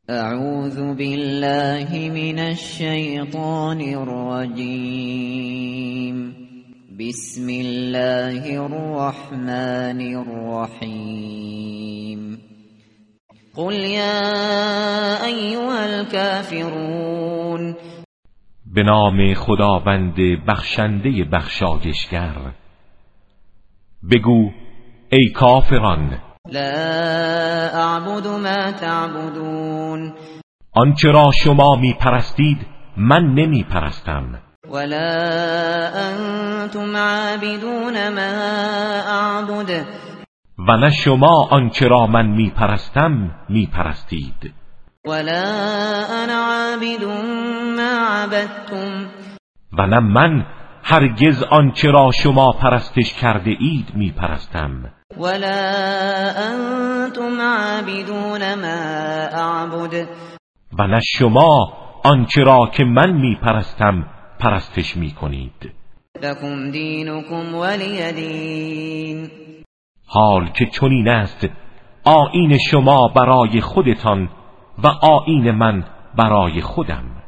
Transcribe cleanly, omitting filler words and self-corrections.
اعوذ بالله من الشیطان الرجیم. بسم الله الرحمن الرحیم. قل یا ایها الکافرون. به نام خداوند بخشنده بخشایشگر. بگو ای کافران، لا اعبد ما تعبدون. آنچه را شما می پرستید من نمی پرستم. ولا انتم عابدون ما اعبد. و نه شما آنچه را من می پرستم می پرستید. ولا انا عابد ما عبدتم. و نه من هرگز آنچه را شما پرستش کرده اید می پرستم. ولا انتم عابدون ما اعبد. و نه شما آنچه را که من می پرستم پرستش می کنید. لکم دینکم ولی دین. حال که چنین است آیین شما برای خودتان و آیین من برای خودم.